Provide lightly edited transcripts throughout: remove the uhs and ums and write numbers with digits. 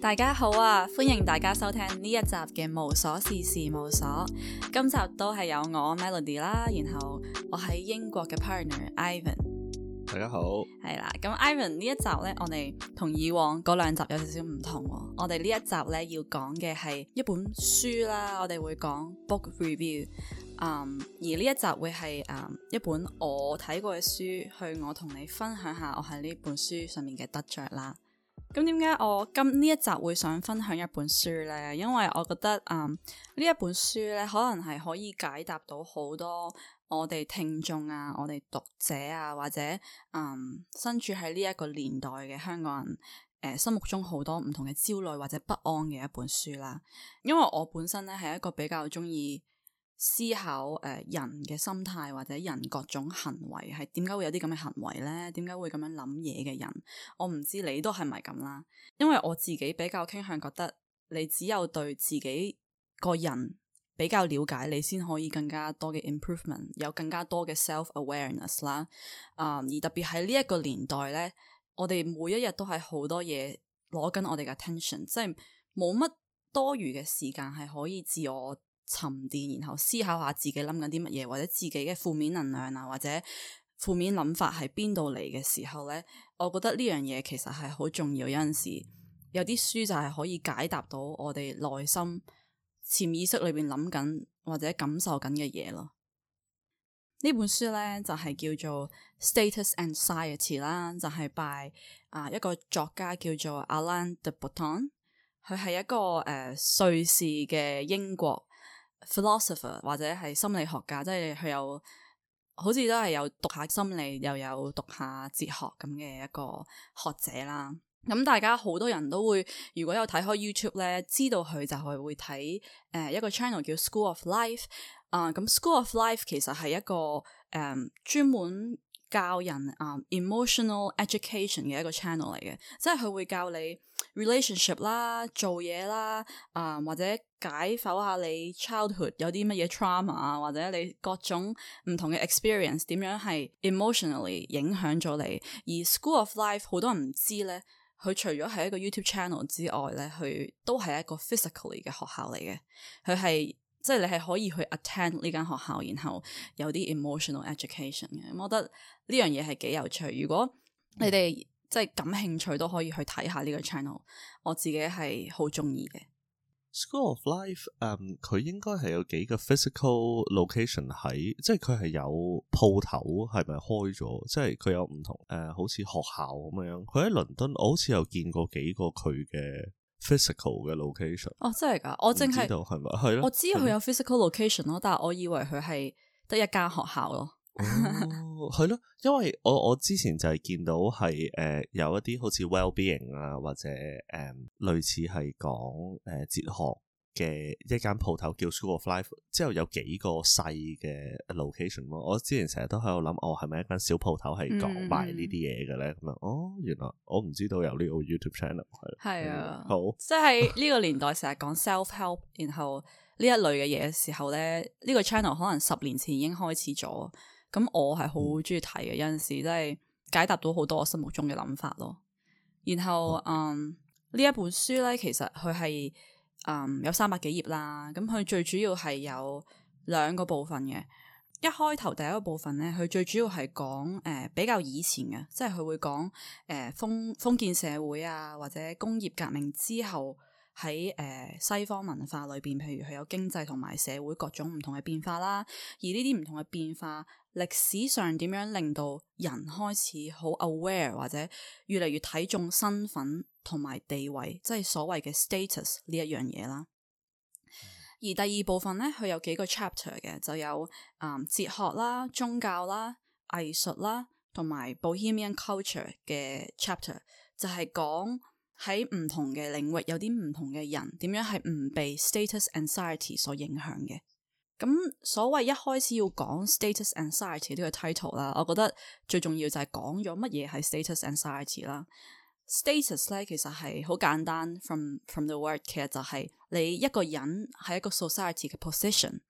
大家好啊，歡迎大家收聽呢一集嘅無瑣事事務所。今集都係有我 Melody 啦，然後我喺英國嘅 partner Ivan。 大家好， 係啦，咁 Ivan 呢一集呢，我哋同以往嗰兩集有少少唔同喎。我哋呢一集呢，要講嘅係一本書啦，我哋會講 book review。而呢一集會係一本我睇過嘅書，去我同你分享下我喺呢本書上面嘅得着啦。咁點解我呢一集會想分享一本書呢？因為我覺得呢一本書呢，可能係可以解答到好多我哋聽眾啊、我哋讀者啊，或者身處喺呢一個年代嘅香港人心目中好多唔同嘅焦慮或者不安嘅一本書啦。因為我本身呢係一個比較中意思考人嘅心態或者人各種行為係點解會有啲咁嘅行為呢？點解會咁樣諗嘢嘅人？我唔知你都係咪咁啦。因為我自己比較傾向覺得，你只有對自己個人比較了解，你先可以更加多嘅 improvement， 有更加多嘅 self-awareness 啦。而特別喺呢一個年代呢，我哋每一日都係好多嘢攞緊我哋嘅 attention， 即係冇乜多餘嘅時間係可以自我沉澱，然後思考下自己諗緊啲乜嘢，或者自己嘅負面能量啊，或者負面諗法係邊度嚟嘅時候呢，我覺得呢樣嘢其實係好重要。有陣時有啲書就係可以解答到我哋內心潛意識裏邊諗緊或者感受緊嘅嘢咯。呢本書呢，就係叫做 Status Anxiety 啦，就係 by 一個作家叫做 Alain de Botton， 佢係一個瑞士嘅英國philosopher 或者係心理學家，即係佢有好似都係有讀下心理又有讀下哲學咁嘅一個學者啦。咁大家好多人都會，如果有睇開 YouTube 咧，知道佢就係會睇一個 channel 叫 School of Life。咁 School of Life 其實係一個專門教人emotional education 嘅一個 channel 嚟嘅，即係佢會教你 relationship 啦、做嘢啦，或者解剖下你 childhood 有啲乜嘢 trauma 啊，或者你各種唔同嘅 experience 點樣係 emotionally 影響咗你。而 School of Life 好多人唔知咧，佢除咗係一個 YouTube channel 之外咧，佢都係一個 physically 嘅學校嚟嘅。佢係即係你係可以去 attend 呢間學校，然後有啲 emotional education 嘅。我覺得呢樣嘢係幾有趣。如果你哋即係感興趣，都可以去睇下呢個 channel。我自己係好中意嘅。 School of Life，佢應該係有幾個 physical location 喺，即係佢係有鋪頭係咪開咗？即係佢有唔同好似學校咁樣。佢喺倫敦，我好似有見過幾個佢嘅 physical 嘅 location。哦， 真係㗎？我淨係知道係咪？係咯， 我知佢有 physical location 咯，但係我以為佢係得一間學校咯。 哦，係咯，因為我之前就係見到係有一啲好似 well-being 啊，或者類似係講哲學嘅一間鋪頭叫 School of Life， 之後有幾個細嘅 location 咯。我之前成日都喺度諗，係咪一間小鋪頭係講賣呢啲嘢嘅咧？咁樣原來我唔知道有呢個 YouTube channel 係啊， 好， 即係呢個年代成日講 self-help， 然後呢一類嘅嘢嘅時候咧，呢個 channel 可能10年前已經開始咗。咁我係好中意睇嘅，有陣時真係解答到好多我心目中嘅諗法咯。然後呢一本書咧，其實佢係有300幾頁啦。咁佢最主要係有2個部分嘅。一開頭第一個部分咧，佢最主要係講比較以前嘅，即係佢會講封建社會啊，或者工業革命之後喺西方文化裏邊，譬如佢有經濟同埋社會各種唔同嘅變化啦。而呢啲唔同嘅變化，歷史上點樣令到人開始好 aware 或者越嚟越睇重身份同埋地位，即係所謂嘅 status 呢一樣嘢啦。而第二部分咧，佢有幾個 chapter 嘅，就有哲學啦、宗教啦、藝術啦，同埋 Bohemian culture 嘅 chapter， 就係講喺唔同嘅領域有啲唔同嘅人點樣係唔被 status anxiety 所影響嘅。咁所謂一開始要講 status anxiety 呢個 title 啦，我覺得最重要就係講咗乜嘢係 status anxiety 啦。status 咧其實係好簡單 from the word， 其實就係你一個人喺一個 society 嘅 position，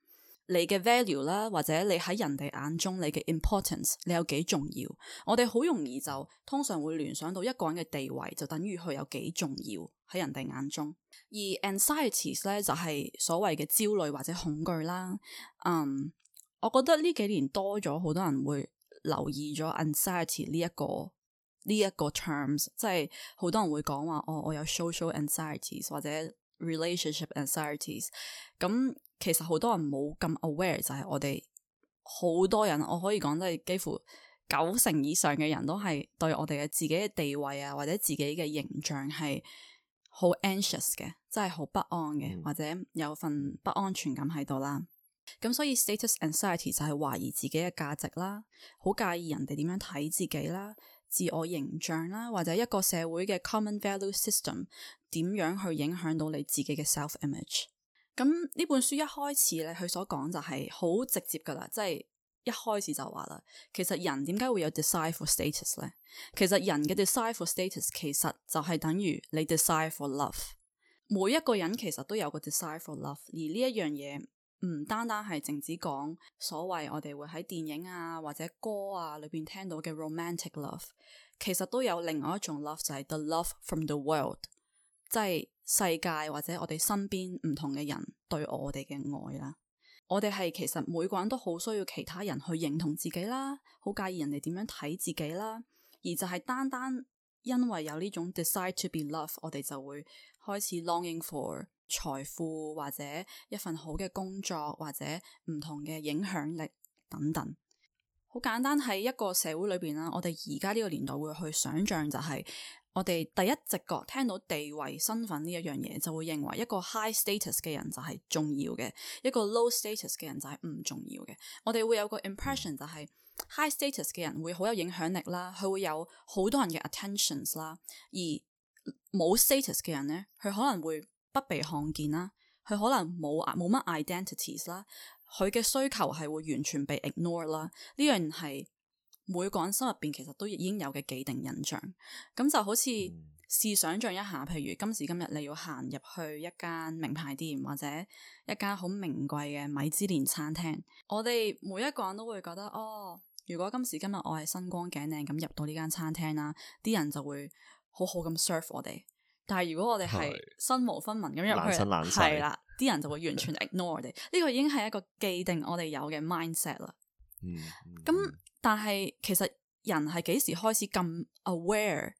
你嘅 value 啦，或者你喺人哋眼中你嘅 importance， 你有幾重要？我哋好容易就通常會聯想到一個人嘅地位就等於佢有幾重要喺人哋眼中。而 anxieties 咧就係所謂嘅焦慮或者恐懼啦。我覺得呢幾年多咗好多人會留意咗 anxiety 呢一個 terms， 即係好多人會講話我有 social anxieties 或者 relationship anxieties。咁其實好多人冇咁 aware， 就係我哋好多人，我可以講即係幾乎90%以上嘅人都係對我哋嘅自己嘅地位啊或者自己嘅形象係好 anxious 嘅，即係好不安嘅，或者有份不安全感喺度啦。咁所以 status anxiety 就係懷疑自己嘅價值啦，好介意人哋點樣睇自己啦，自我形象啦，或者一個社會嘅 common value system 點樣去影響到你自己嘅 self image。咁呢本書一開始咧，佢所講就係好直接噶啦，即係一開始就話啦，其實人點解會有 desire for status 咧？其實人嘅 desire for status 其實就係等於你 desire for love。每一個人其實都有個 desire for love， 而呢一樣嘢唔單單係淨止講所謂我哋會喺電影啊或者歌啊裏邊聽到嘅 romantic love， 其實都有另外一種 love， 就係 the love from the world， 即係世界或者我哋身邊唔同嘅人對我哋嘅愛啦。我哋係其實每個人都好需要其他人去認同自己啦，好介意人哋點樣睇自己啦，而就係單單因為有呢種 desire to be loved， 我哋就會開始 longing for財富或者一份好嘅工作或者唔同嘅影響力等等。好簡單，喺一個社會裏邊啦，我哋而家呢個年代會去想象就係我哋第一直覺聽到地位身份呢一樣嘢，就會認為一個 high status 嘅人就係重要嘅，一個 low status 嘅人就係唔重要嘅。我哋會有個 impression 就係 high status 嘅人會好有影響力啦，佢會有好多人嘅 attentions 啦，而冇 status 嘅人呢，佢可能會不被看見啦，佢可能冇乜 identities 啦，佢嘅需求係會完全被 ignore 啦。呢樣係每個人心入邊其實都已經有嘅既定印象。咁就好似試想像一下，譬如今時今日你要行入去一間名牌店或者一間好名貴嘅米芝蓮餐廳，我哋每一個人都會覺得如果今時今日我係身光頸靚咁入到呢間餐廳啦，啲人就會好好咁 serve 我哋。但係如果我哋係身無分文咁入去，係啦，啲人就會完全 ignore 我哋。呢個已經係一個既定我哋有嘅 mindset 啦。咁但係其實人係幾時開始咁 aware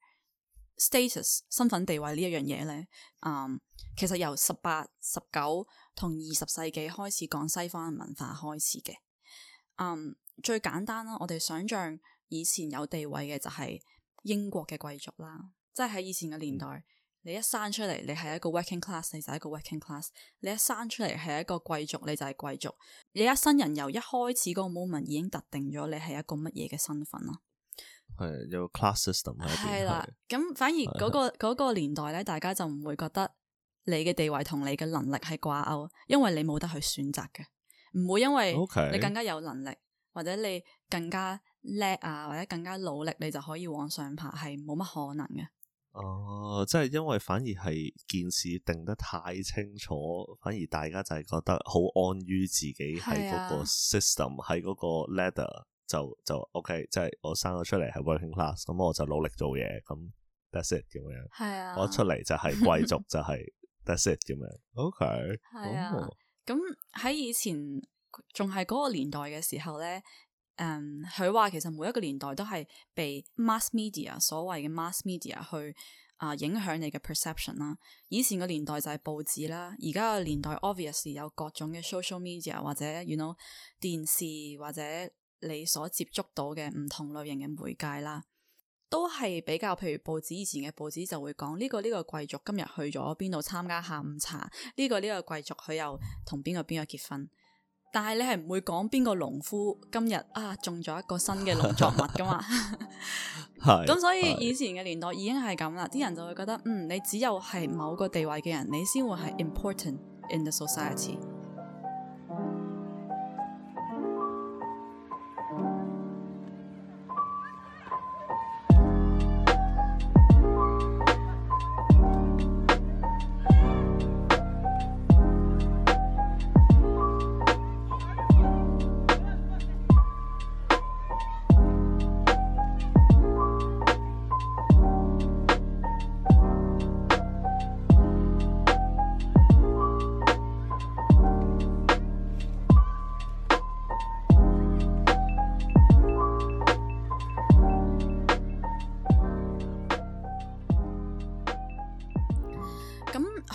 status 身份地位呢一樣嘢咧？其實由18、19同20世紀開始講西方文化開始嘅。最簡單啦，我哋想象以前有地位嘅就係英國嘅貴族啦，即係喺以前嘅年代。你一生出嚟，你係一個 working class， 你就係一個 working class。你一生出嚟係一個貴族，你就係貴族。你一生人由一開始嗰個 moment 已經特定咗你係一個乜嘢嘅身份啦。 係有個 class system 喺邊。係啦， 咁反而嗰個年代咧，大家就唔會覺得你嘅地位同你嘅能力係掛鈎，因為你冇得去選擇嘅，唔會因為你更加有能力或者你更加叻啊，或者更加努力，你就可以往上爬，係冇乜可能嘅。 即係因為反而係件事定得太清楚，反而大家就係覺得好安於自己喺嗰個 system，喺嗰個 ladder 就 OK， 即係我生咗出嚟係 working class， 咁我就努力做嘢，咁 that's it 咁樣。係啊，我出嚟就係貴族，就係 that's it 咁樣。OK， 係啊。咁喺以前仲係嗰個年代嘅時候咧。佢話其實每一個年代都係被 mass media 所謂嘅 mass media 去影響你嘅 perception 啦。以前嘅年代就係報紙啦，而家嘅年代 obviously 有各種嘅 social media 或者 you know 電視或者你所接觸到嘅唔同類型嘅媒介啦，都係比較譬如報紙，以前嘅報紙就會講呢個貴族今日去咗邊度參加下午茶，呢個貴族佢又同邊個結婚。但係你係唔會講邊個農夫今日種咗一個新嘅農作物噶嘛？咁所以以前嘅年代已經係咁啦，啲人就會覺得你只有係某個地位嘅人，你先會係 important in the society。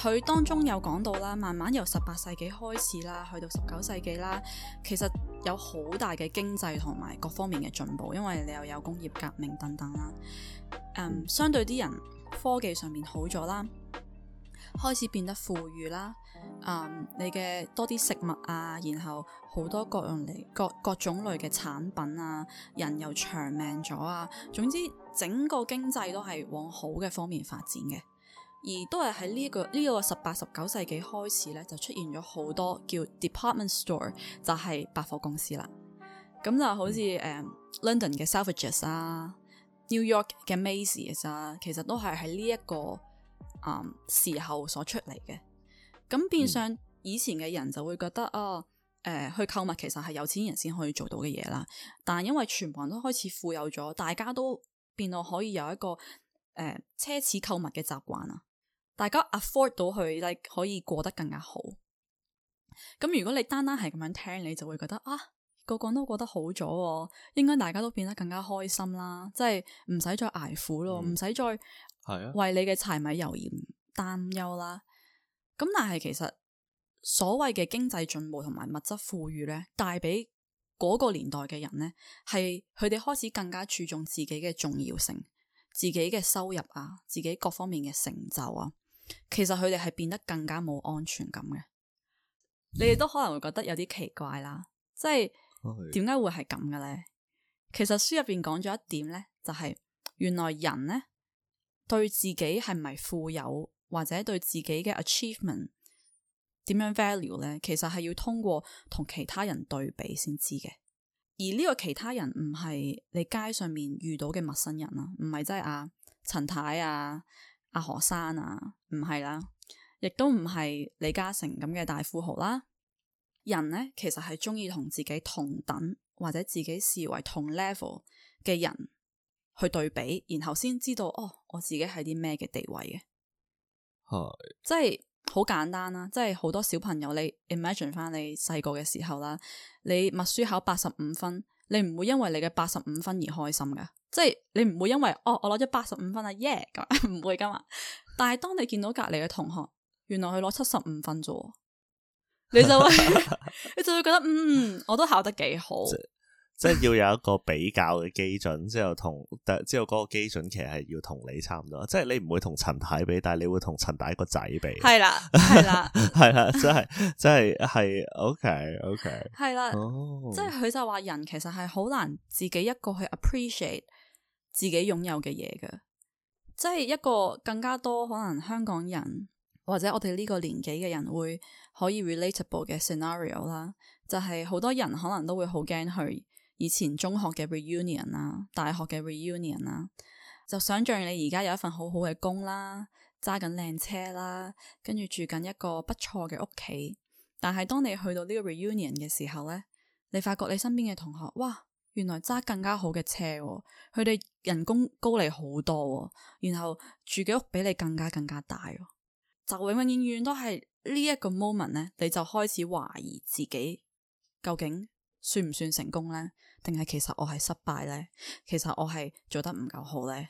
佢當中有講到啦，慢慢由18世紀開始啦，去到19世紀啦，其實有好大嘅經濟同埋各方面嘅進步，因為你又有工業革命等等啦。相對啲人科技上面好咗啦，開始變得富裕啦。你嘅多啲食物啊，然後好多各種類嘅產品啊，人又長命咗啊，總之整個經濟都係往好嘅方面發展嘅。而都係喺呢個18、19世紀開始咧，就出現咗好多叫 department store， 就係百貨公司啦。咁就好似London 嘅 Selfridges 啊，New York 嘅 Macy's 啊，其實都係喺呢一個時候所出嚟嘅。咁變相以前嘅人就會覺得去購物其實係有錢人先可以做到嘅嘢啦。但係因為全部人都開始富有咗，大家都變到可以有一個奢侈購物嘅習慣啊。大家 afford 到佢可以過得更加好。咁如果你單單係咁樣聽，你就會覺得個個都過得好咗，應該大家都變得更加開心啦，即係唔使再捱苦咯，唔使再為你嘅柴米油鹽擔憂啦。咁但係其實所謂嘅經濟進步同埋物質富裕咧，帶俾嗰個年代嘅人咧，係佢哋開始更加注重自己嘅重要性，自己嘅收入啊，自己各方面嘅成就啊。其實佢哋係變得更加冇安全感嘅。你哋都可能會覺得有啲奇怪啦，即係點解會係咁嘅咧？其實書入邊講咗一點咧，就係原來人咧對自己係咪富有或者對自己嘅 achievement 點樣 value 咧，其實係要通過同其他人對比先知嘅。而呢個其他人唔係你街上面遇到嘅陌生人啊，唔係即係阿陳太啊、阿何生啊，唔係啦，亦都唔係李嘉誠咁嘅大富豪啦。人呢，其實係中意同自己同等或者自己視為同 level 嘅人去對比，然後先知道我自己係啲咩嘅地位嘅。即係好簡單啦，即係好多小朋友，你 imagine 翻你細個嘅時候啦，你默書考85分，你唔會因為你嘅85分而開心噶，即係你唔會因為我攞咗85分啊耶咁，唔會噶嘛。但係當你見到隔籬嘅同學，原來佢攞75分啫，你就會你就會覺得我都考得幾好。 即係要有一個比較嘅基準，之後嗰個基準其實係要同你差唔多，即係你唔會同陳太比，但係你會同陳太個仔比。係啦，係啦，係啦，真係 OK， 係啦，即係佢就話人其實係好難自己一個去 appreciate 自己擁有嘅嘢嘅，即係一個更加多可能香港人或者我哋呢個年紀嘅人會可以 relatable 嘅 scenario 啦，就係好多人可能都會好驚去以前中學嘅 reunion 啦，大學嘅 reunion 啦，就想象你而家有一份好好嘅工啦，揸緊靚車啦，跟住住緊一個不錯嘅屋企，但係當你去到呢個 reunion 嘅時候咧，你發覺你身邊嘅同學，哇，原來揸更加好嘅車，佢哋人工高你好多，然後住嘅屋比你更加大，就永遠都係呢一個 moment 咧，你就開始懷疑自己究竟算唔算成功咧？定係其實我係失敗咧？其實我係做得唔夠好咧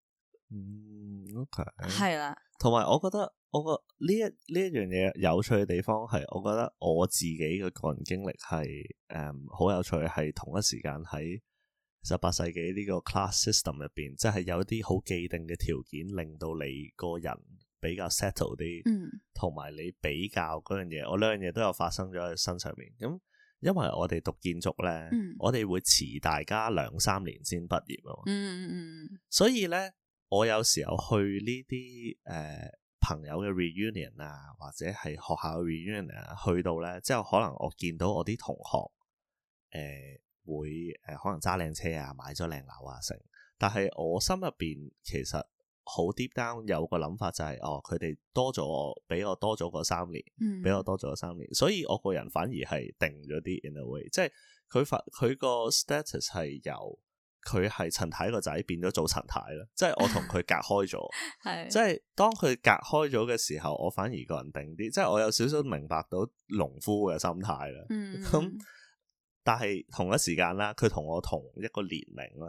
？OK， 係啦。 同埋我覺得呢一樣嘢有趣嘅地方係，我覺得我自己嘅個人經歷係好有趣，係同一時間喺18世紀呢個 class system 入邊，即係有啲好既定嘅條件，令到你個人比較 settle 啲，同埋你比較嗰樣嘢，我兩樣嘢都有發生咗喺身上面咁。因為我哋讀建築咧，我哋會遲大家2-3年先畢業啊嘛，所以咧，我有時候去呢啲朋友嘅 reunion 啊，或者係學校嘅 reunion 啊，去到咧之後，可能我見到我啲同學會可能揸靚車啊，買咗靚樓啊成，但係我心入邊其實好 deep down 有個諗法就係佢哋比我多咗個3年，比我多咗個3年，所以我個人反而係定咗啲 in a way，即係佢個 status 係由佢係陳太個仔變咗做陳太啦，即係我同佢隔開咗，係即係當佢隔開咗嘅時候，我反而個人定啲，即係我有少少明白到農夫嘅心態啦。咁但係同一時間啦，佢同我同一個年齡啦。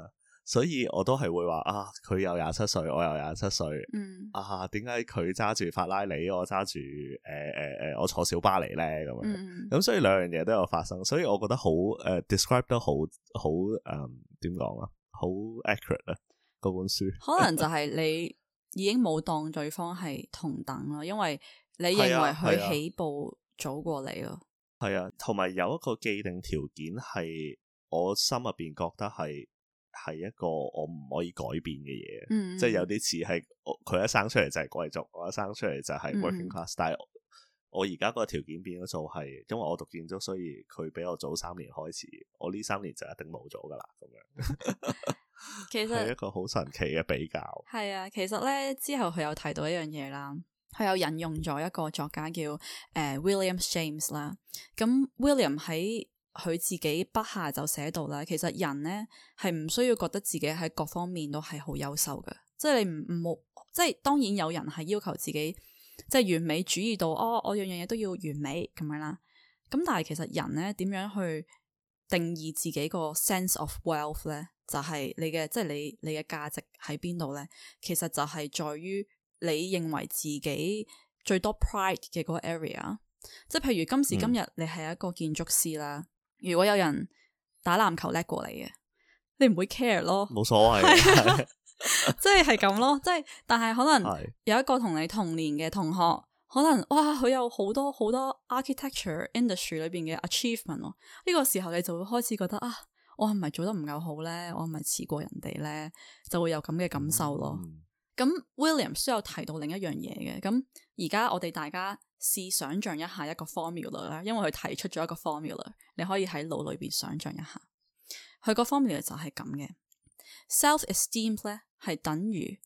所以我都係會話啊，佢又27歲，我又27歲，啊，點解佢揸住法拉利，我揸住我坐小巴嚟咧咁樣，咁所以兩樣嘢都有發生，所以我覺得好describe 得好點講啊，好 accurate 啊嗰本書， 可能就係你已經冇當對方係同等咯，因為你認為佢起步早過你咯， 係啊，同埋有一個既定條件係我心入邊覺得係一個我唔可以改變嘅嘢，即係有啲似係佢一生出嚟就係貴族，我一生出嚟就係 working class，但係我而家個條件變咗做係，因為我讀建築，所以佢比我早3年開始，我呢3年就一定冇咗噶啦，咁樣。其實係一個好神奇嘅比較。 係啊，其實咧之後佢有提到一樣嘢啦，佢有引用咗一個作家叫William James 啦，咁 William 喺佢自己筆下就寫到啦，其實人咧係唔需要覺得自己喺各方面都係好優秀嘅，即係你唔好，即係當然有人係要求自己即係完美主義到我樣樣嘢都要完美咁樣啦，咁但係其實人咧點樣去定義自己個 sense of wealth 咧，就係你嘅即係你嘅價值喺邊度咧，其實就係在於你認為自己最多 pride 嘅嗰個 area， 即係譬如今時今日你係一個建築師啦。如果有人打籃球叻過你嘅，你唔會 care 咯， 冇所謂， 即係咁咯，即係但係可能有一個同你同年嘅同學，可能哇佢有好多 architecture industry 裏邊嘅 achievement 咯，呢個時候你就會開始覺得啊，我係咪做得唔夠好咧？我係咪遲過人哋咧？就會有咁嘅感受咯。咁 William 都有提到另一樣嘢嘅，咁而家我哋大家試想像一下一個 formula 啦，因為佢提出咗一個 formula， 你可以喺腦裏邊想像一下，佢個 formula 就係咁嘅 ，self-esteem 咧係等於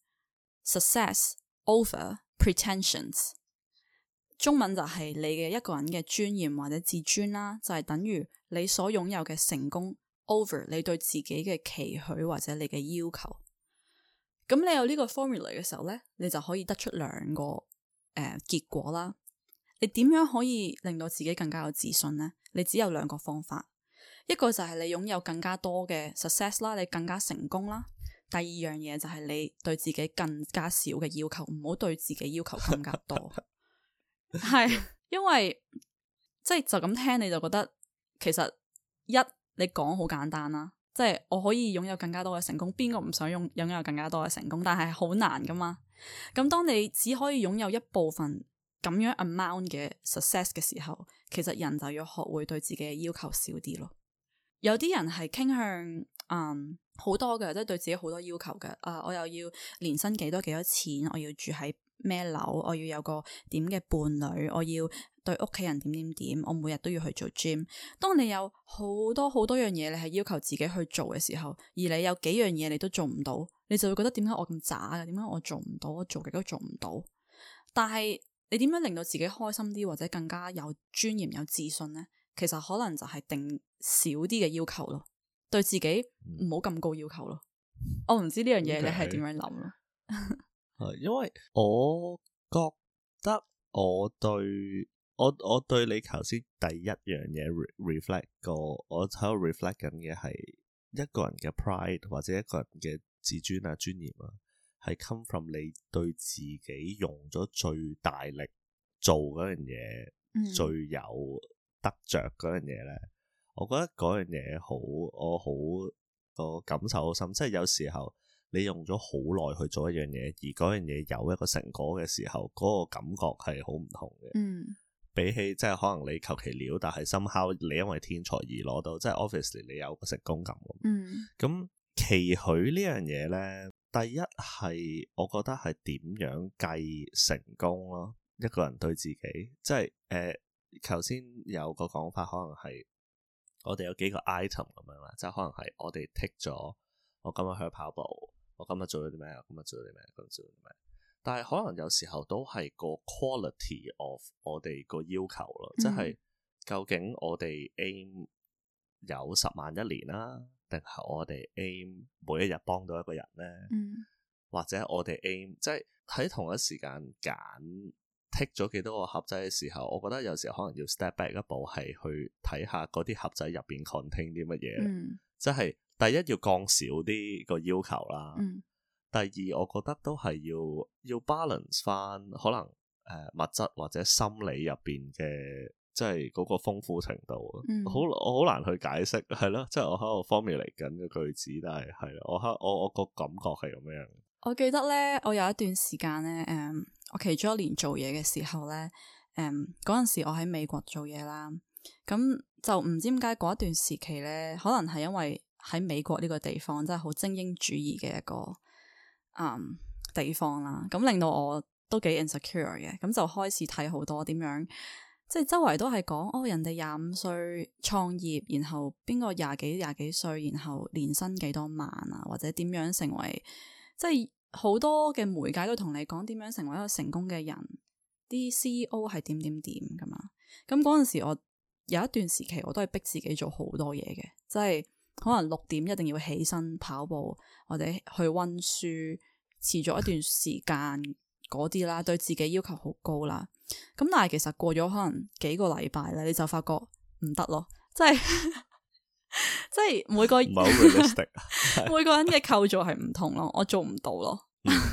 success over pretensions， 中文就係你嘅一個人嘅尊嚴或者自尊啦，就係等於你所擁有嘅成功 over 你對自己嘅期許或者你嘅要求。咁你有呢個 formula 嘅時候咧，你就可以得出兩個結果啦。你點樣可以令到自己更加有自信呢？你只有兩個方法，一個就係你擁有更加多嘅 success 啦，你更加成功啦。第二樣嘢就係你對自己更加少嘅要求，唔好對自己要求更加多。係因為即係就咁聽你就覺得其實你講好簡單啦。即係我可以擁有更加多嘅成功，邊個唔想擁有更加多嘅成功？但係好難噶嘛。咁當你只可以擁有一部分咁樣 amount 嘅 success 嘅時候，其實人就要學會對自己嘅要求少啲咯。有啲人係傾向好多嘅，即係對自己好多要求嘅。我又要年薪幾多錢，我要住喺咩樓，我要有個點嘅伴侶，我要對屋企人點，我每日都要去做 gym。當你有好多樣嘢，你係要求自己去做嘅時候，而你有幾樣嘢你都做唔到，你就會覺得點解我咁渣嘅？點解我做唔到？我做極都做唔到。但係你點樣令到自己開心啲，或者更加有尊嚴、有自信呢？其實可能就係定少啲嘅要求咯，對自己唔好咁高要求咯。我唔知呢樣嘢你係點樣諗咯？ 因為我覺得我對你頭先第一樣嘢 reflect 過，我喺度 reflect 緊嘅係一個人嘅 pride 或者一個人嘅自尊啊、尊嚴啊，係 come from 你對自己用咗最大力做嗰樣嘢，最有得着嗰樣嘢咧。我覺得嗰樣嘢我好個感受好深，即係有時候你用咗好耐去做一樣嘢，而嗰樣嘢有一個成果嘅時候，嗰個感覺係好唔同嘅。比起即係可能你求其料，但係 somehow 你因為天才而攞到，即係 obviously 你有個成功感。咁期許呢樣嘢咧，第一係我覺得係點樣計成功咯？一個人對自己，即係頭先有個講法，可能係我哋有幾個 item 咁樣啦，即係可能係我哋 tick 咗，我今日去跑步，我今日做咗啲咩，我今日做咗啲咩，今日做咗啲咩。但係可能有時候都係個 quality of 我哋個要求咯，即係究竟我哋 aim 有10萬一年啦，定係我哋 aim 每一日幫到一個人咧？或者我哋 aim 即係喺同一時間揀剔咗幾多個盒仔嘅時候，我覺得有時候可能要 step back 一步，係去睇下嗰啲盒仔入邊 contain 啲乜嘢，即係第一要降少啲個要求啦。第二我覺得都係要 balance 翻可能物質或者心理入邊嘅即係嗰個豐富程度。我好難去解釋係咯，即係我喺度 formulate 緊個句子，但係我個感覺係咁樣。 我記得咧，我有一段時間咧，我其中一年做嘢嘅時候咧，嗰陣時我喺美國做嘢啦，咁就唔知點解嗰一段時期咧，可能係因為喺美國呢個地方真係好精英主義嘅一個地方啦，咁令到我都幾 insecure 嘅，咁就開始睇好多點樣，即係周圍都係講人哋25歲創業，然後邊個廿幾歲，然後年薪幾多萬啊，或者點樣成為，即係好多嘅媒介都同你講點樣成為一個成功嘅人，啲 CEO 係點㗎嘛。咁嗰陣時我有一段時期我都係逼自己做好多嘢嘅，即係可能6點一定要起身跑步或者去溫書，持續一段時間嗰啲啦，對自己要求好高啦。咁但係其實過咗可能幾個禮拜咧，你就發覺唔得咯，即係即係每個唔係好 realistic 每個人嘅構造係唔同咯，我做唔到咯。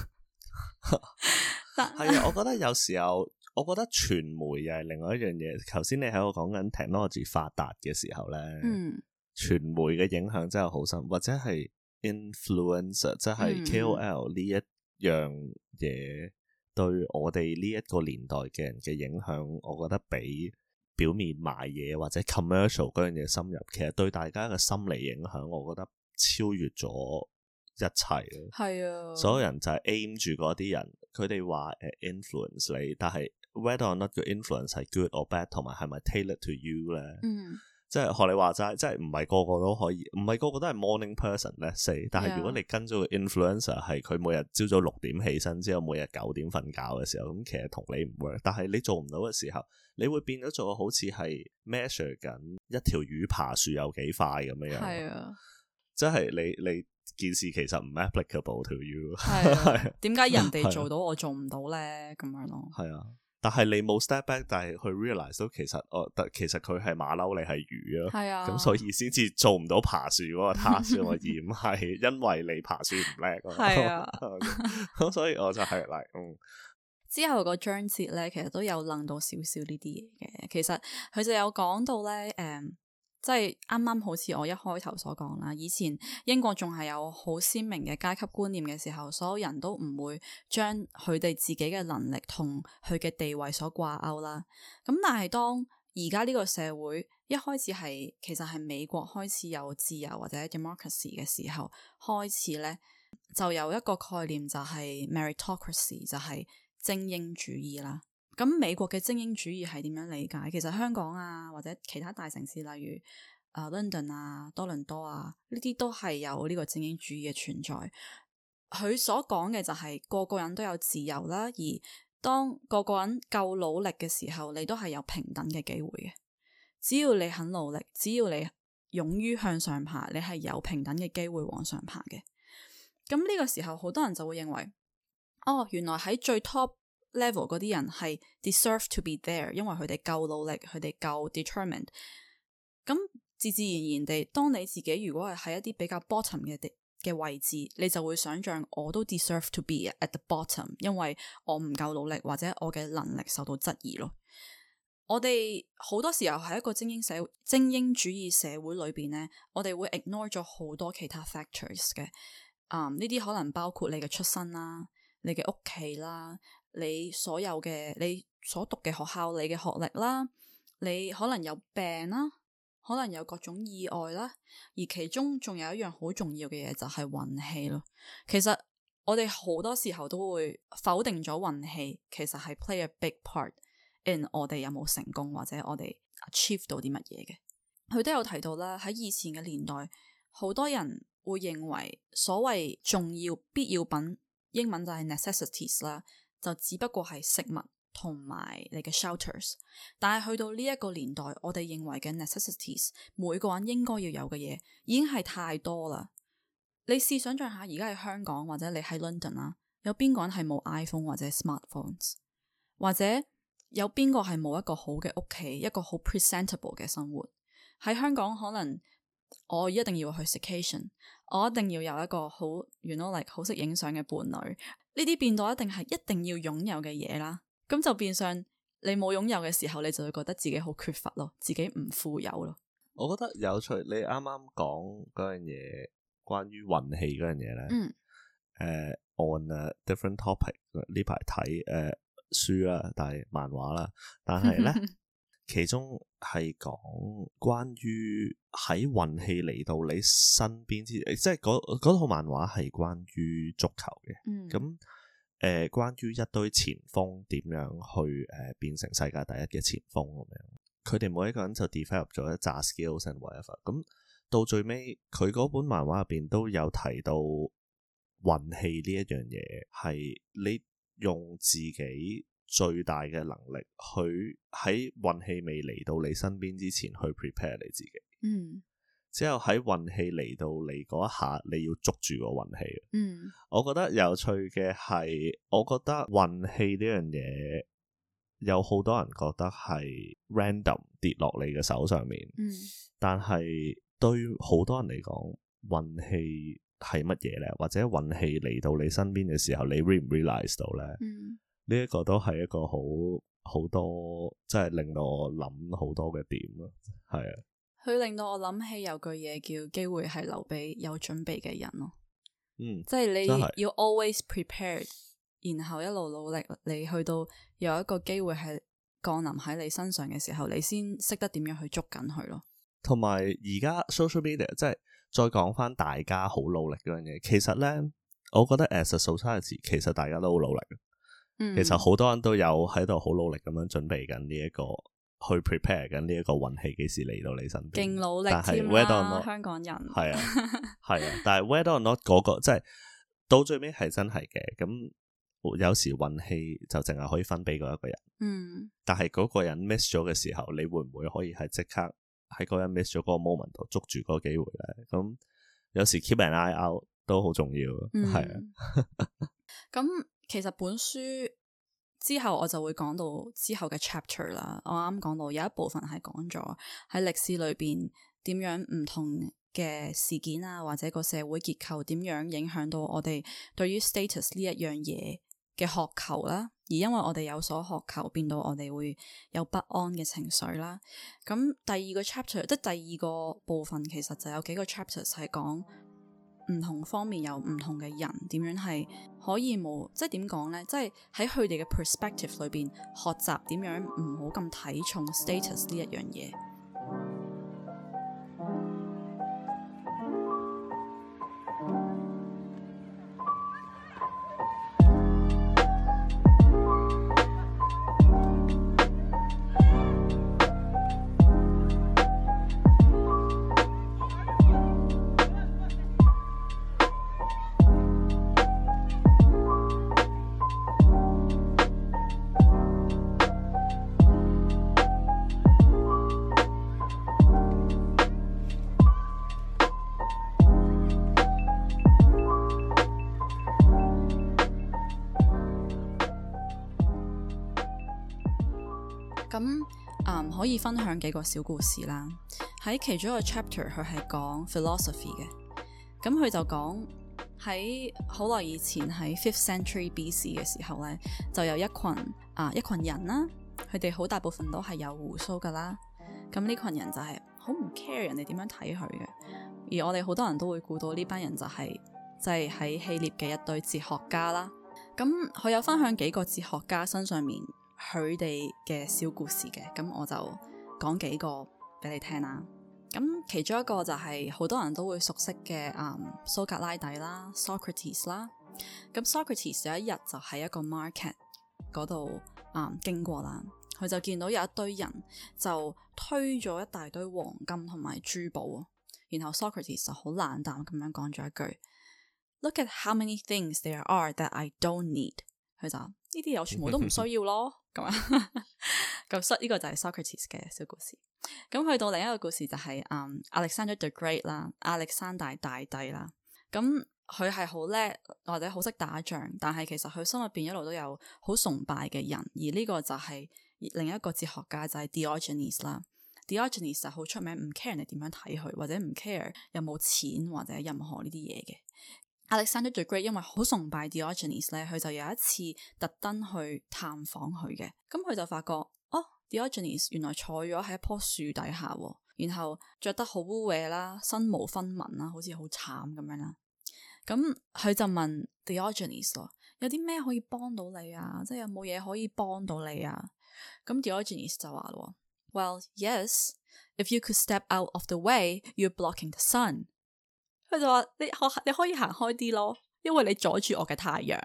係啊，我覺得有時候，我覺得傳媒又係另外一樣嘢。頭先你喺度講緊 technology 發達嘅時候咧，傳媒嘅影響真係好深，或者係 influencer， 即係 KOL 呢一樣嘢，對我哋呢一個年代嘅人嘅影響，我覺得比表面賣嘢或者 commercial 嗰樣嘢深入。其實對大家嘅心理影響，我覺得超越咗一切咯。係啊，所有人就係 aim 住嗰啲人，佢哋話influence 你，但係 whether or not 個 influence 係 good or bad， 同埋係咪 tailored to you 咧？即係學你話齋，即係唔係個個都可以，唔係個個都係 morning person let's say。但係如果你跟咗個 influencer 係佢每日朝早6點起身之後，每日9點瞓覺嘅時候，咁其實同你唔 work。但係你做唔到嘅時候，你會變咗做好似係 measure 緊一條魚爬樹有幾快咁樣樣。係啊，即係你件事其實唔 applicable to you。係啊，點解人哋做到我做唔到咧？咁樣咯。係啊。但係你冇 step back， 但係去 realize 到其實佢係馬騮，你係魚咯。係啊，咁所以先至做唔到爬樹嗰個 task， 而唔係因為你爬樹唔叻咯。係啊，咁所以我就係之後個章節咧，其實都有諗到少少呢啲嘢嘅。其實佢就有講到咧，即係啱啱好似我一開頭所講啦，以前英國仲係有好鮮明嘅階級觀念嘅時候，所有人都唔會將佢哋自己嘅能力同佢嘅地位所掛鈎啦。咁但係當而家呢個社會一開始係其實係美國開始有自由或者 democracy 嘅時候，開始咧就有一個概念就係 meritocracy， 就係精英主義啦。咁美國嘅精英主義係點樣理解？其實香港啊，或者其他大城市，例如London 啊、多倫多啊，呢啲都係有呢個精英主義嘅存在。佢所講嘅就係個個人都有自由啦，而當個個人夠努力嘅時候，你都係有平等嘅機會嘅。只要你肯努力，只要你勇於向上爬，你係有平等嘅機會往上爬嘅。咁呢個時候，好多人就會認為，原來喺最 top level 嗰啲人係 deserve to be there， 因為佢哋夠努力，佢哋夠 determined。咁自自然然地，當你自己如果係喺一啲比較 bottom 嘅位置，你就會想象我都 deserve to be at the bottom， 因為我唔夠努力或者我嘅能力受到質疑咯。我哋好多時候喺一個精英主義社會裏邊呢，我哋會 ignore 咗好多其他 factors 嘅。呢啲可能包括你嘅出身啦，你嘅屋企啦，你所有嘅你所讀嘅學校，你嘅學歷啦，你可能有病啦，可能有各種意外啦，而其中仲有一樣好重要嘅嘢就係運氣咯。其實我哋好多時候都會否定咗運氣，其實係 play a big part in 我哋有冇成功或者我哋 achieve 到啲乜嘢嘅。佢都有提到啦，喺以前嘅年代，好多人會認為所謂重要必要品，英文就係 necessities 啦，就只不過係食物同埋你嘅 shelters。但係去到呢一個年代，我哋認為嘅 necessities， 每個人應該要有嘅嘢已經係太多啦。你試想象下，而家喺香港或者你喺 London 啦，有邊個人係冇 iPhone 或者 smartphones， 或者有邊個係冇一個好嘅屋企，一個好 presentable 嘅生活？喺香港可能我一定要去 staycation， 我一定要有一個好 you know like 好識影相嘅伴侶，呢啲變到一定係一定要擁有嘅嘢啦。咁就變相你冇擁有嘅時候，你就會覺得自己好缺乏咯，自己唔富有咯。 我覺得有趣，你啱啱講嗰樣嘢，關於運氣嗰樣嘢咧。on a different topic 呢排睇書啦，但係漫畫啦，但係咧其中係講關於喺運氣嚟到你身邊之，即係嗰套漫畫係關於足球嘅。咁關於一堆前鋒點樣去變成世界第一嘅前鋒咁樣，佢哋每一個人就 develop 咗一紮 skills and whatever。咁到最尾佢嗰本漫畫入邊都有提到運氣呢一樣嘢，係你用自己最大嘅能力去喺運氣未嚟到你身邊之前去 prepare 你自己。之後喺運氣嚟到你嗰一下，你要捉住個運氣。我覺得有趣嘅係，我覺得運氣呢樣嘢有好多人覺得係 random 跌落你嘅手上面。但係對好多人嚟講，運氣係乜嘢咧？或者運氣嚟到你身邊嘅時候，你 realize 到咧？呢一個都係一個好多，即係令到我諗好多嘅點咯。係啊， 佢令到我諗起有句嘢叫機會係留俾有準備嘅人咯。即係你要 always prepared， 然後一路努力，你去到有一個機會係降臨喺你身上嘅時候，你先識得點樣去捉緊佢咯。同埋而家 social media 即係再講翻大家好努力嗰樣嘢，其實咧，我覺得 as a society 其實大家都好努力。其實好多人都有喺度好努力咁樣準備緊呢一個去 prepare 緊呢一個運氣幾時嚟到你身邊，勁努力添啦，香港人係啊係啊，但係 whether or not 嗰個即係到最尾係真係嘅。咁有時運氣就淨係可以分俾嗰一個人，但係嗰個人 miss 咗嘅時候，你會唔會可以係即刻喺嗰人 miss 咗嗰個 moment 度捉住嗰個機會咧？咁有時 keep an eye out 都好重要，係啊。 咁其實本書之後我就會講到之後嘅 chapter 啦。我啱講到有一部分係講咗喺歷史裏邊點樣唔同嘅事件啊，或者個社會結構點樣影響到我哋對於 status 呢一樣嘢嘅渴求啦。而因為我哋有所渴求，變到我哋會有不安嘅情緒啦。咁第二個 chapter 即係第二個部分，其實就有幾個 chapters 係講唔同方面有唔同嘅人點樣係可以冇，即係點講呢？即係喺佢哋嘅 perspective 裏邊學習點樣唔好咁睇重 status 呢一樣嘢。咁可以分享幾個小故事啦。喺其中一個 chapter 佢係講 philosophy 嘅。咁佢就講喺好耐以前喺 5th century BC 嘅時候咧，就有一群人啦，佢哋好大部分都係有鬍鬚噶啦。咁呢群人就係好唔 care 人哋點樣睇佢嘅。而我哋好多人都會估到呢班人就係喺希臘嘅一堆哲學家啦。咁佢有分享幾個哲學家身上面佢哋嘅小故事嘅，咁我就講幾個俾你聽啦。咁其中一個就係好多人都會熟悉嘅蘇格拉底啦 Socrates 啦。咁 Socrates 有一日就喺一個 market 嗰度經過啦，佢就見到有一堆人就推咗一大堆黃金同埋珠寶，然後 Socrates 就好冷淡咁樣講咗一句 Look at how many things there are that I don't need。 佢就呢啲嘢我全部都唔需要咯。咁啊，咁呢個就係 Socrates 嘅小故事。咁去到另一個故事就係Alexander the Great 啦，亞歷山大大帝啦。咁佢係好叻或者好識打仗，但係其實佢心入邊一路都有好崇拜嘅人。而呢個就係另一個哲學家就係 Diogenes 啦。 Diogenes 就好出名，唔 care 人哋點樣睇佢，或者唔 care 有冇錢或者任何呢啲嘢嘅。Alexander the Great 因為好崇拜 Diogenes 咧，佢就有一次特登去探訪佢嘅，咁佢就發覺Diogenes 原來坐咗喺一棵樹底下，然後着得好污穢啦，身無分文啦，好似好慘咁樣啦。咁佢就問 Diogenes 咯，有啲咩可以幫到你啊？即係有冇嘢可以幫到你啊？咁 Diogenes 就話咯 ，Well, yes, if you could step out of the way, you're blocking the sun。佢就話你可以行開啲咯，因為你阻住我嘅太陽。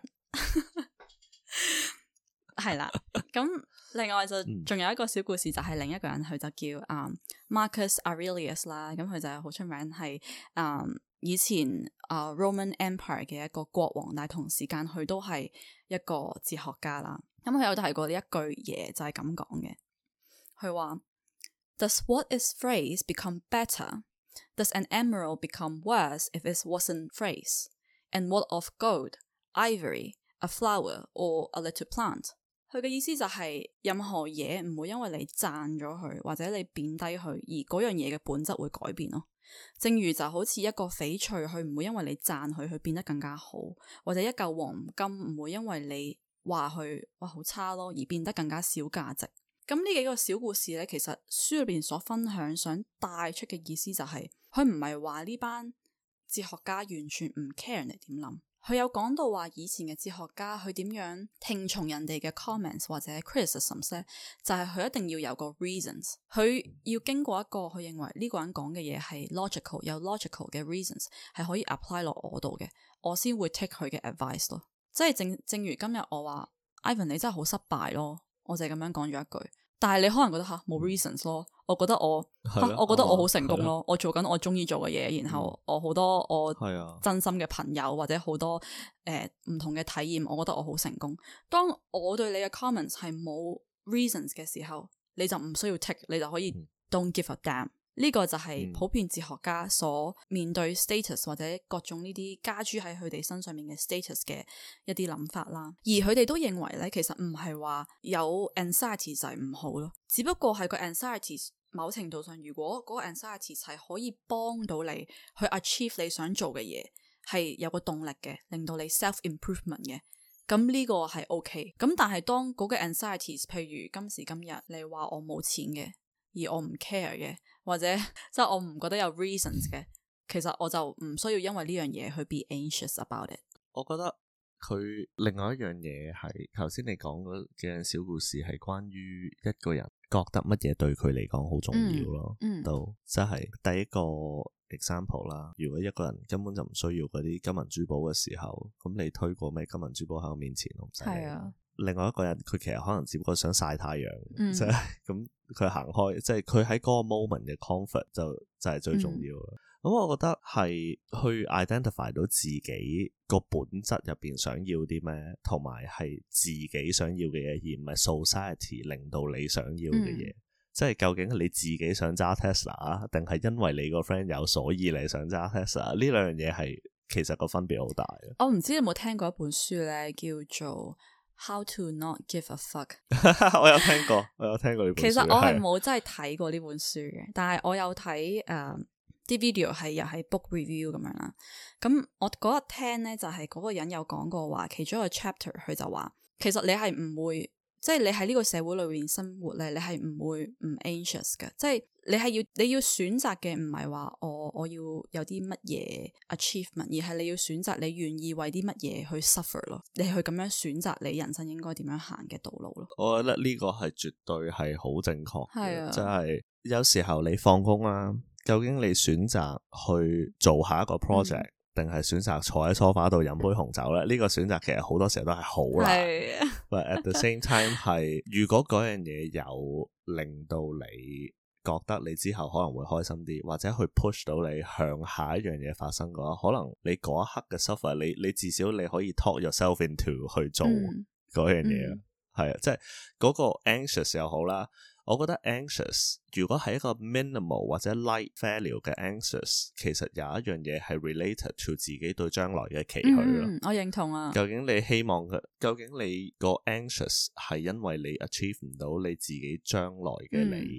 係啦，咁另外就仲有一個小故事，就係另一個人，佢就叫Marcus Aurelius 啦。咁佢就好出名，係以前Roman Empire 嘅一個國王，但係同時間佢都係一個哲學家啦。咁佢有提過呢一句嘢，就係咁講嘅。佢話 Does what is phrase become better? Does an emerald become worse if it wasn't phrase? And what of gold, ivory, a flower, or a little plant? 佢嘅意思就係任何嘢唔會因為你讚咗佢或者你貶低佢而嗰樣嘢嘅本質會改變咯。正如就好似一個翡翠，佢唔會因為你讚佢變得更加好，或者一嚿黃金唔會因為你話佢哇好差咯而變得更加少價值。咁呢幾個小故事咧，其實書裏邊所分享想帶出嘅意思就係佢唔係話呢班哲學家完全唔 care 人哋點諗。佢有講到話以前嘅哲學家佢點樣聽從人哋嘅 comments 或者 criticisms 咧，就係佢一定要有個 reasons， 佢要經過一個佢認為呢個人講嘅嘢係 logical， 有 logical 嘅 reasons 係可以 apply 落我度嘅，我先會 take 佢嘅 advice 咯。即係正如今日我話 Ivan 你真係好失敗咯，我就係咁樣講咗一句，但係你可能覺得冇 reasons 咯，我覺得我覺得我好成功咯，我做緊我中意做嘅嘢，然後我好多我真心嘅朋友或者好多唔同嘅體驗，我覺得我好成功。當我對你嘅 comments 係冇 reasons 嘅時候，你就唔需要 take， 你就可以 don't give a damn。呢個就係普遍哲學家所面對 status 或者各種呢啲加諸喺佢哋身上面嘅 status 嘅一啲諗法啦。而佢哋都認為咧，其實唔係話有 anxiety 就係唔好咯，只不過係個 anxiety 某程度上，如果嗰個 anxiety 係可以幫到你去 achieve 你想做嘅嘢，係有個動力嘅，令到你 self improvement 嘅，咁呢個係 OK。咁但係當嗰個 anxiety， 譬如今時今日你話我冇錢嘅，而我唔 care 嘅，或者即係我唔覺得有 reasons 嘅，其實我就唔需要因為呢樣嘢去 be anxious about it。 我覺得佢另外一樣嘢係頭先你講嗰嘅小故事，係關於一個人覺得乜嘢對佢嚟講好重要咯。都即係第一個 example 啦。如果一個人根本就唔需要嗰啲金銀珠寶嘅時候，咁你推過咩金銀珠寶喺我面前，我唔使理。另外一個人佢其實可能只不過想曬太陽，即係咁佢行開，即係佢喺嗰個 moment 嘅 comfort 就係最重要啦。咁我覺得係去 identify 到自己個本質入邊想要啲咩，同埋係自己想要嘅嘢，而唔係 society 令到你想要嘅嘢。即係究竟你自己想揸 Tesla 定係因為你個 friend 有所以你想揸 Tesla？ 呢兩樣嘢係其實個分別好大。 我唔知你有冇聽過一本書咧，叫做How to not give a fuck。 我有聽過呢本書。 其實我係冇真係睇過呢本書嘅，但係我有睇啲 video 係又係 book review 咁樣啦。咁我嗰日聽咧就係嗰個人有講過話，其中一個 chapter 佢就話，其實你係唔會，即係你喺呢個社會裏面生活咧，你係唔會唔 anxious 嘅。即係你要選擇嘅唔係話我要有啲乜嘢 achievement， 而係你要選擇你願意為啲乜嘢去 suffer 咯。你去咁樣選擇你人生應該點樣行嘅道路咯。 我覺得呢個係絕對係好正確嘅，即係有時候你放工啦。究竟你選擇去做下一個 project，定係選擇坐喺梳化度飲杯紅酒咧？呢個選擇其實好多時候都係好難。But at the same time 係，如果嗰樣嘢有令到你覺得你之後可能會開心啲，或者去 push 到你向下一樣嘢發生嘅話，可能你嗰一刻嘅 suffer， 你至少你可以 talk yourself into 去做嗰樣嘢。係啊，即係嗰個 anxious 又好啦。我覺得 anxious 如果係一個 minimal 或者 light value 嘅 anxious， 其實有一樣嘢係 related to 自己對將來嘅期許咯。 我認同啊。 究竟你希望究竟你個 anxious 係因為你 achieve 唔到你自己將來嘅你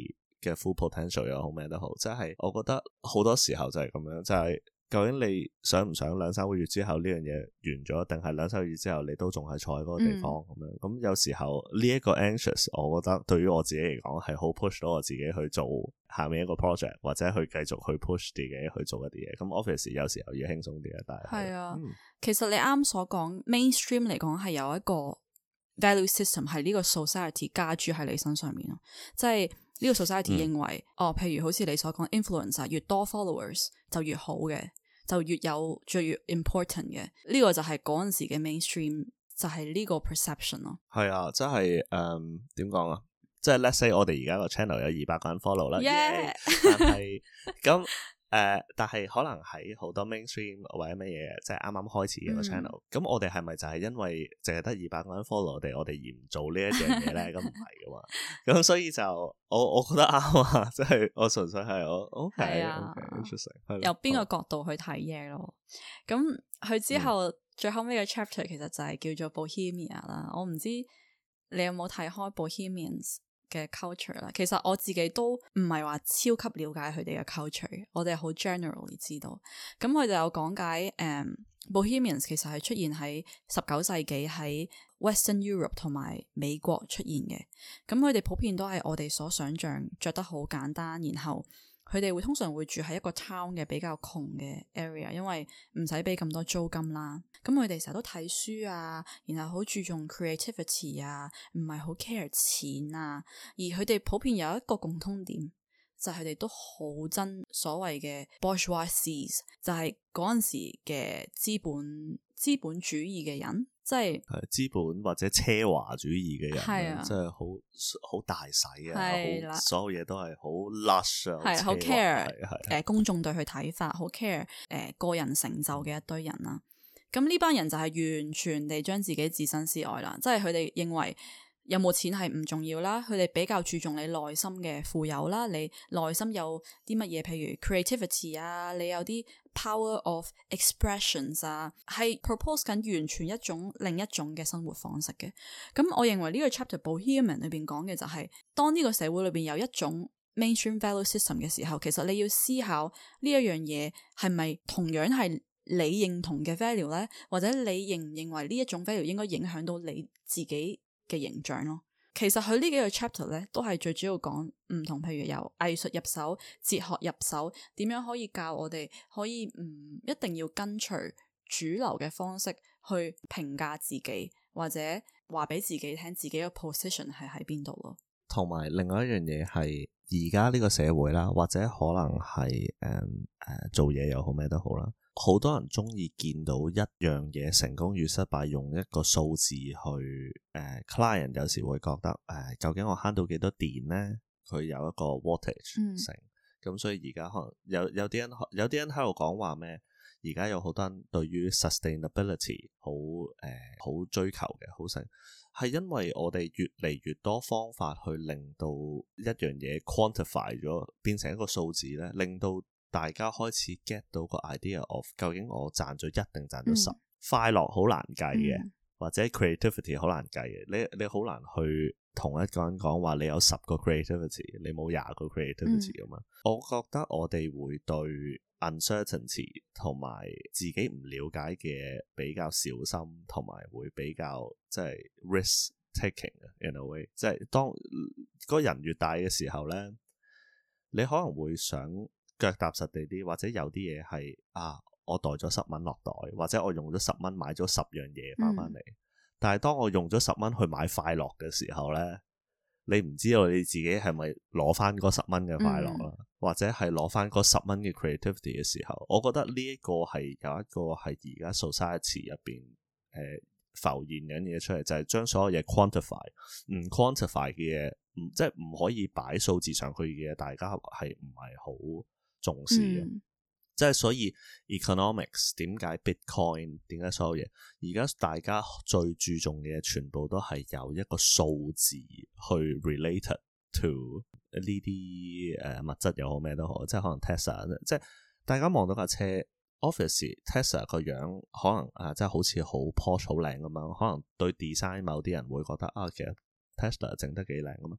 嘅 full potential 又好咩都好，即係我覺得好多時候就係咁樣，就係究竟你想唔想2-3個月之後呢樣嘢完咗，定係2-3個月之後你都仲係坐喺嗰個地方咁樣？咁有時候呢一個 anxious， 我覺得對於我自己嚟講係好 push 到我自己去做下面一個 project， 或者去繼續去 push 自己去做一啲嘢。咁 obviously 有時候要輕鬆啲嘅，但係其實你啱所講 mainstream 嚟講係有一個 value system 係呢個 society 加諸喺你身上面咯，即係呢個 society 認為譬如好似你所講 influencer 越多 followers 就越好嘅，就越有最越 important 嘅，呢個就係嗰陣時嘅 mainstream， 就係呢個 perception 咯。 係啊，即係點講啊？即係 let's say 我哋而家個 channel 有200個人 follow 啦，但係咁但係可能喺好多 mainstream 或者乜嘢，即係啱啱開始嘅個 channel，咁我哋係咪就係因為淨係得200個人 follow 我哋而唔做呢一樣嘢咧？咁唔係噶嘛，咁所以就我覺得啱啊，即係我純粹係我 OK interesting， 由邊個角度去睇嘢咯。咁佢之後最後尾嘅 chapter 其實就係叫做 Bohemia 啦。我唔知你有冇睇開 Bohemians嘅 culture 啦，其實我自己都唔係話超級了解佢哋嘅 culture， 我哋好 generally 知道。咁佢哋有講解Bohemians 其實係出現喺19世紀喺 Western Europe 同埋美國出現嘅。咁佢哋普遍都係我哋所想象着得好簡單，然後佢哋通常會住喺一個 town 嘅比較窮嘅 area， 因為唔使俾咁多租金啦。咁佢哋成日都睇書啊，然後好注重 creativity 啊，唔係好 care 錢啊。而佢哋普遍有一個共通點，就係佢哋都好憎所謂嘅 bourgeoisie， 就係嗰陣時嘅資本主義嘅人，即係資本或者奢華主義嘅人，即係好大使啊，所有嘢都係好 lush 啊， 好 care 公眾對佢睇法，好 care 個人成就嘅一堆人啦。咁呢班人就係完全地將自己置身事外啦，即係佢哋認為有冇錢係唔重要啦，佢哋比較注重你內心嘅富有啦，你內心有啲乜嘢，譬如 creativity 啊，你有啲 power of expressions 啊，係 propose 緊完全另一種嘅生活方式嘅。咁我認為呢個 chapter Bohemian 裏邊講嘅就係，當呢個社會裏邊有一種 mainstream value system 嘅時候，其實你要思考呢一樣嘢係咪同樣係你認同嘅 value 咧，或者你認唔認為呢一種 value 應該影響到你自己嘅形象咯。其實佢呢幾個 chapter 咧都係最主要講唔同，譬如由藝術入手、哲學入手，點樣可以教我哋可以唔一定要跟隨主流嘅方式去評價自己，或者話俾自己聽自己嘅 position 係喺邊度咯。同埋另外一樣嘢係而家呢個社會啦，或者可能係做嘢又好咩都好啦。好多人中意見到一樣嘢成功與失敗用一個數字去client 有時會覺得究竟我慳到幾多電呢？佢有一個 wattage 成咁，所以而家可能有啲人喺度講話咩？而家有好多人對於 sustainability 好追求嘅，好成係因為我哋越嚟越多方法去令到一樣嘢 quantify 咗變成一個數字咧，令到大家開始 get 到個 idea of 究竟我賺咗1定賺咗10，快樂好難計嘅，或者 creativity 好難計嘅。你好難去同一個人講話你有10個 creativity， 你冇20個 creativity 咁嘛。我覺得我哋會對 uncertainty 同埋自己唔了解嘅比較小心，同埋會比較即係 risk taking in a way， 即係當個人越大嘅時候咧，你可能會想腳踏實地啲，或者有啲嘢係我袋咗10蚊落袋，或者我用咗10蚊買咗10樣嘢翻嚟。但係當我用咗10蚊去買快樂嘅時候咧，你唔知道你自己係咪攞翻嗰10蚊嘅快樂啦，或者係攞翻嗰10蚊嘅 creativity 嘅時候，我覺得呢一個係有一個係而家 society 入邊浮現緊嘢出嚟，就係將所有嘢 quantify， 唔 quantify 嘅嘢，即係唔可以擺數字上去嘅嘢，大家係唔係好重視嘅。即係所以 economics 點解 Bitcoin 點解所有嘢而家大家最注重嘅嘢全部都係有一個數字去 related to 呢啲物質又好咩都好，即係可能 Tesla， 即係大家望到架車 Obviously Tesla 個樣可能即係好似好 posh 好靚咁樣，可能對 design 某啲人會覺得其實 Tesla 整得幾靚咁樣，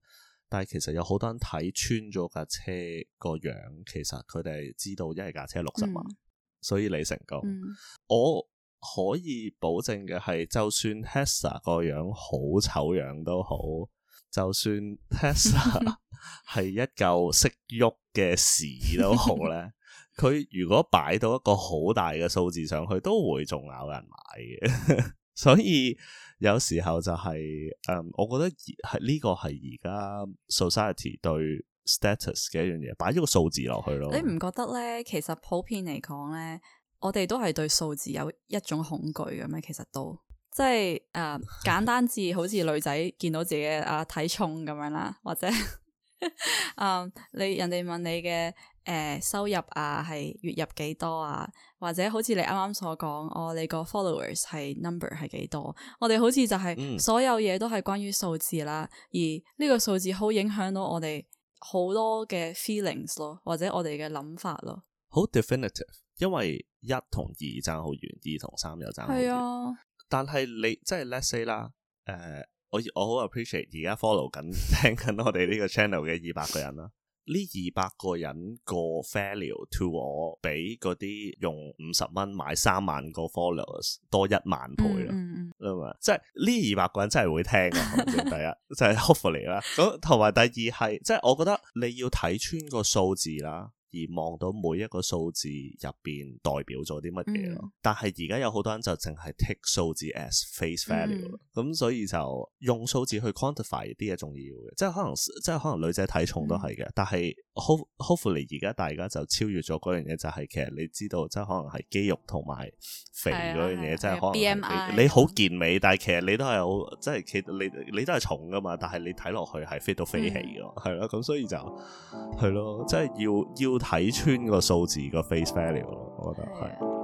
但係其實有好多人睇穿咗架車個樣，其實佢哋知道一係架車60萬，所以你成功。我可以保證嘅係，就算 Tesla 個樣好醜樣都好，就算 Tesla 係一嚿識喐嘅屎都好咧，佢如果擺到一個好大嘅數字上去，都會仲有人買嘅。所以有時候就係我覺得係呢個係而家 society 對 status 嘅一樣嘢，擺咗個數字落去咯。 你唔覺得咧？其實普遍嚟講咧，我哋都係對數字有一種恐懼嘅咩？其實都即係簡單至好似女仔見到自己體重咁樣啦，或者你人哋問你嘅收入係月入幾多啊？或者好似你啱啱所講，你個 followers 係 number 係幾多？我哋好似就係所有嘢都係關於數字啦，而呢個數字好影響到我哋好多嘅 feelings 咯，或者我哋嘅諗法咯。 好 definitive， 因為1同2爭好遠，2同3又爭好遠。係啊，但係你即係 let's say 啦，我好 appreciate 而家 follow 緊聽緊我哋呢個 channel 嘅200個人啦。呢200個人個 value to 我比嗰啲用50蚊買3萬個 followers 多1萬倍咯，即係呢200個人真係會聽啊！第一就係 hopefully 啦，咁同埋第二係即係我覺得你要睇穿個數字啦，而望到每一個數字入邊代表咗啲乜嘢咯。但係而家有好多人就淨係 take 數字 as face value，咁所以就用數字去 quantify 啲嘢重要嘅，即係可能女仔體重都係嘅，但係 hopefully 而家大家就超越咗嗰樣嘢，就係其實你知道即係可能係肌肉同埋肥嗰樣嘢，即係可能 BMI 你好健美，但係其實你都係好即係其實你都係重噶嘛，但係你睇落去係 fit 到飛起噶，係咯，咁所以就係咯，即係要睇穿個數字個 face value 咯，我覺得係。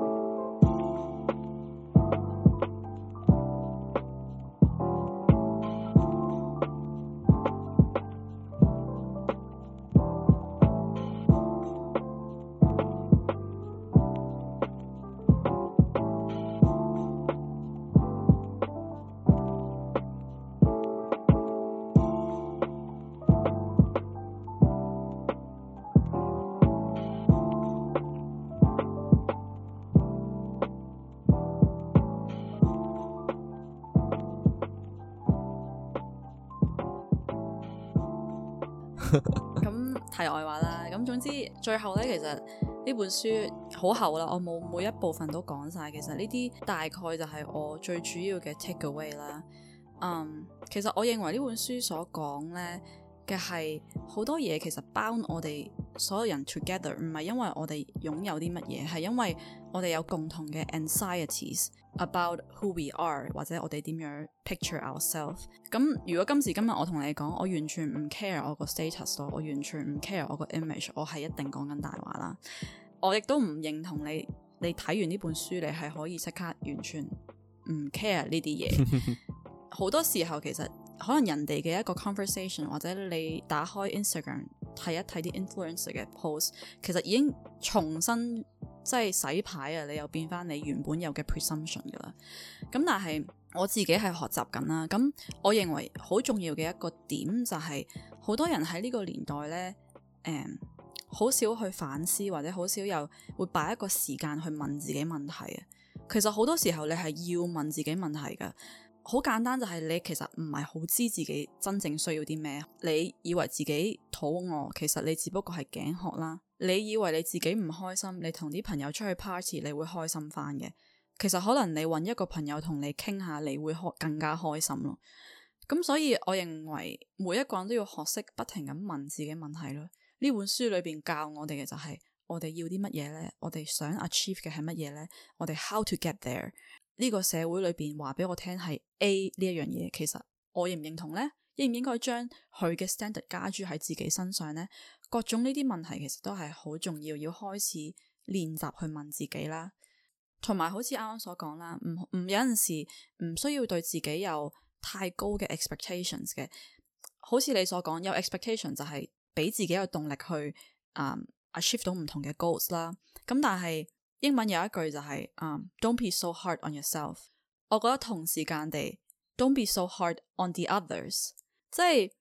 咁題外話啦，咁總之最後咧，其實呢本書好厚啦，我冇每一部分都講晒。其實呢啲大概就係我最主要嘅 take away 啦。其實我認為呢本書所講咧嘅係好多嘢，其實 bound 我哋所有人 together， 唔係因為我哋擁有啲乜嘢，係因為我哋有共同嘅 anxieties about who we are， 或者我哋點樣 picture ourselves。咁如果今時今日我同你講，我完全唔 care 我個 status 咯，我完全唔 care 我個 image， 我係一定講緊大話啦。我亦都唔認同你睇完呢本書，你係可以即刻完全唔 care 呢啲嘢。好多時候其實可能人哋嘅一個 conversation， 或者你打開 Instagram 睇一睇啲 influencer 嘅 post， 其實已經重新即係洗牌啊！你又變翻你原本有嘅 presumption 噶啦。咁但係我自己係學習緊啦。咁我認為好重要嘅一個點就係，好多人喺呢個年代咧，好少去反思，或者好少又會擺一個時間去問自己問題啊。其實好多時候你係要問自己問題噶。好簡單，就係你其實唔係好知自己真正需要啲咩。你以為自己肚餓，其實你只不過係頸渴啦。你以為你自己唔開心，你同啲朋友出去 party 你會開心翻嘅。其實可能你揾一個朋友同你傾下，你會更加開心咯。咁所以我認為每一個人都要學識不停咁問自己問題咯。呢本書裏邊教我哋嘅就係我哋要啲乜嘢呢？我哋想 achieve 嘅係乜嘢呢？我哋 how to get there？呢個社會裏邊話俾我聽係 A 呢一樣嘢，其實我認唔認同呢？應唔應該將佢嘅 standard 加諸喺自己身上呢？各種呢啲問題其實都係好重要，要開始練習去問自己啦。同埋好似啱啱所講啦，唔有陣時唔需要對自己有太高嘅 expectations 嘅。好似你所講，有 expectation 就係俾自己有動力去achieve 到唔同嘅 goals 啦。咁但係英文有一句就係Don't be so hard on yourself。我覺得同時間地 Don't be so hard on the others。即係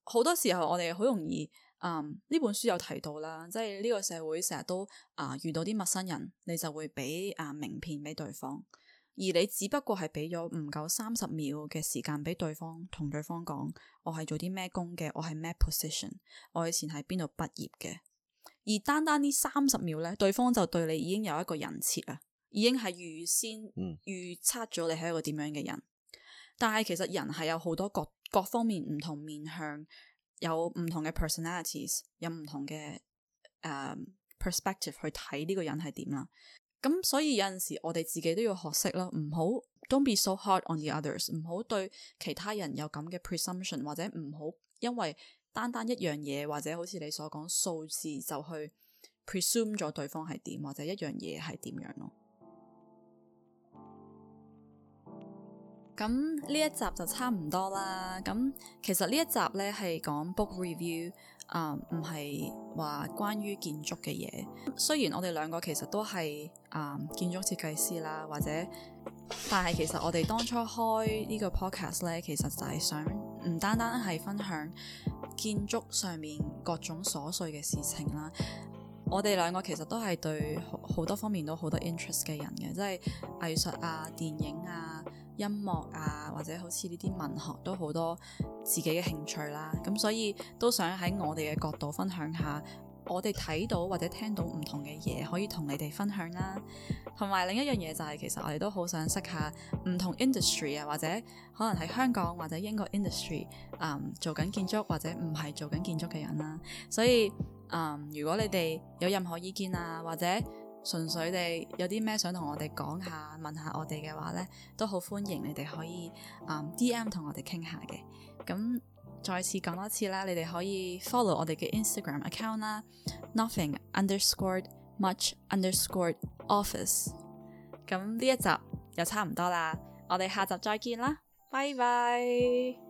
好多時候我哋好容易呢本書有提到啦，即係呢個社會成日都遇到啲陌生人，你就會俾名片俾對方，而你只不過係俾咗唔夠30秒嘅時間俾對方，同對方講我係做啲咩工嘅，我係咩 position， 我以前喺邊度畢業嘅，而單單呢30秒呢，對方就對你已經有一個人設啊，已經係預先預測咗你係一個點樣嘅人。但係其實人係有好多各方面唔同面向，有唔同嘅 personalities， 有唔同嘅perspective 去睇呢個人係點啦。咁所以有陣時我哋自己都要學識啦，唔好 don't be so hard on the others， 唔好對其他人有咁嘅 presumption， 或者唔好因為單單一樣嘢，或者好似你所講數字就去 presume 咗對方係點，或者一樣嘢係點樣咯。咁呢一集就差唔多啦。咁其實呢一集呢係講 book review，唔係話關於建築嘅嘢。雖然我哋兩個其實都係建築設計師啦，但係其實我哋當初開呢個 podcast 呢，其實就係想唔單單係分享建築上面各種瑣碎嘅事情啦。我哋兩個其實都係對好多方面都好多 interest 嘅人嘅，即係藝術啊、電影啊、音樂啊，或者好似呢啲文學都好多自己嘅興趣啦。咁所以都想喺我哋嘅角度分享下我哋睇到或者聽到唔同嘅嘢，可以同你哋分享啦。同埋另一樣嘢就係其實我哋都好想識下唔同 industry 啊，或者可能喺香港或者英國 industry 做緊建築或者唔係做緊建築嘅人啦。所以如果你哋有任何意見啊，或者純粹地有啲咩想同我哋講下，問下我哋嘅話呢，都好歡迎你哋可以DM 同我哋傾下嘅。咁再次講多次啦，你哋可以 follow 我哋嘅 Instagram account 啦 nothing_much_office。 咁呢一集又差唔多啦，我哋下集再見啦，拜拜。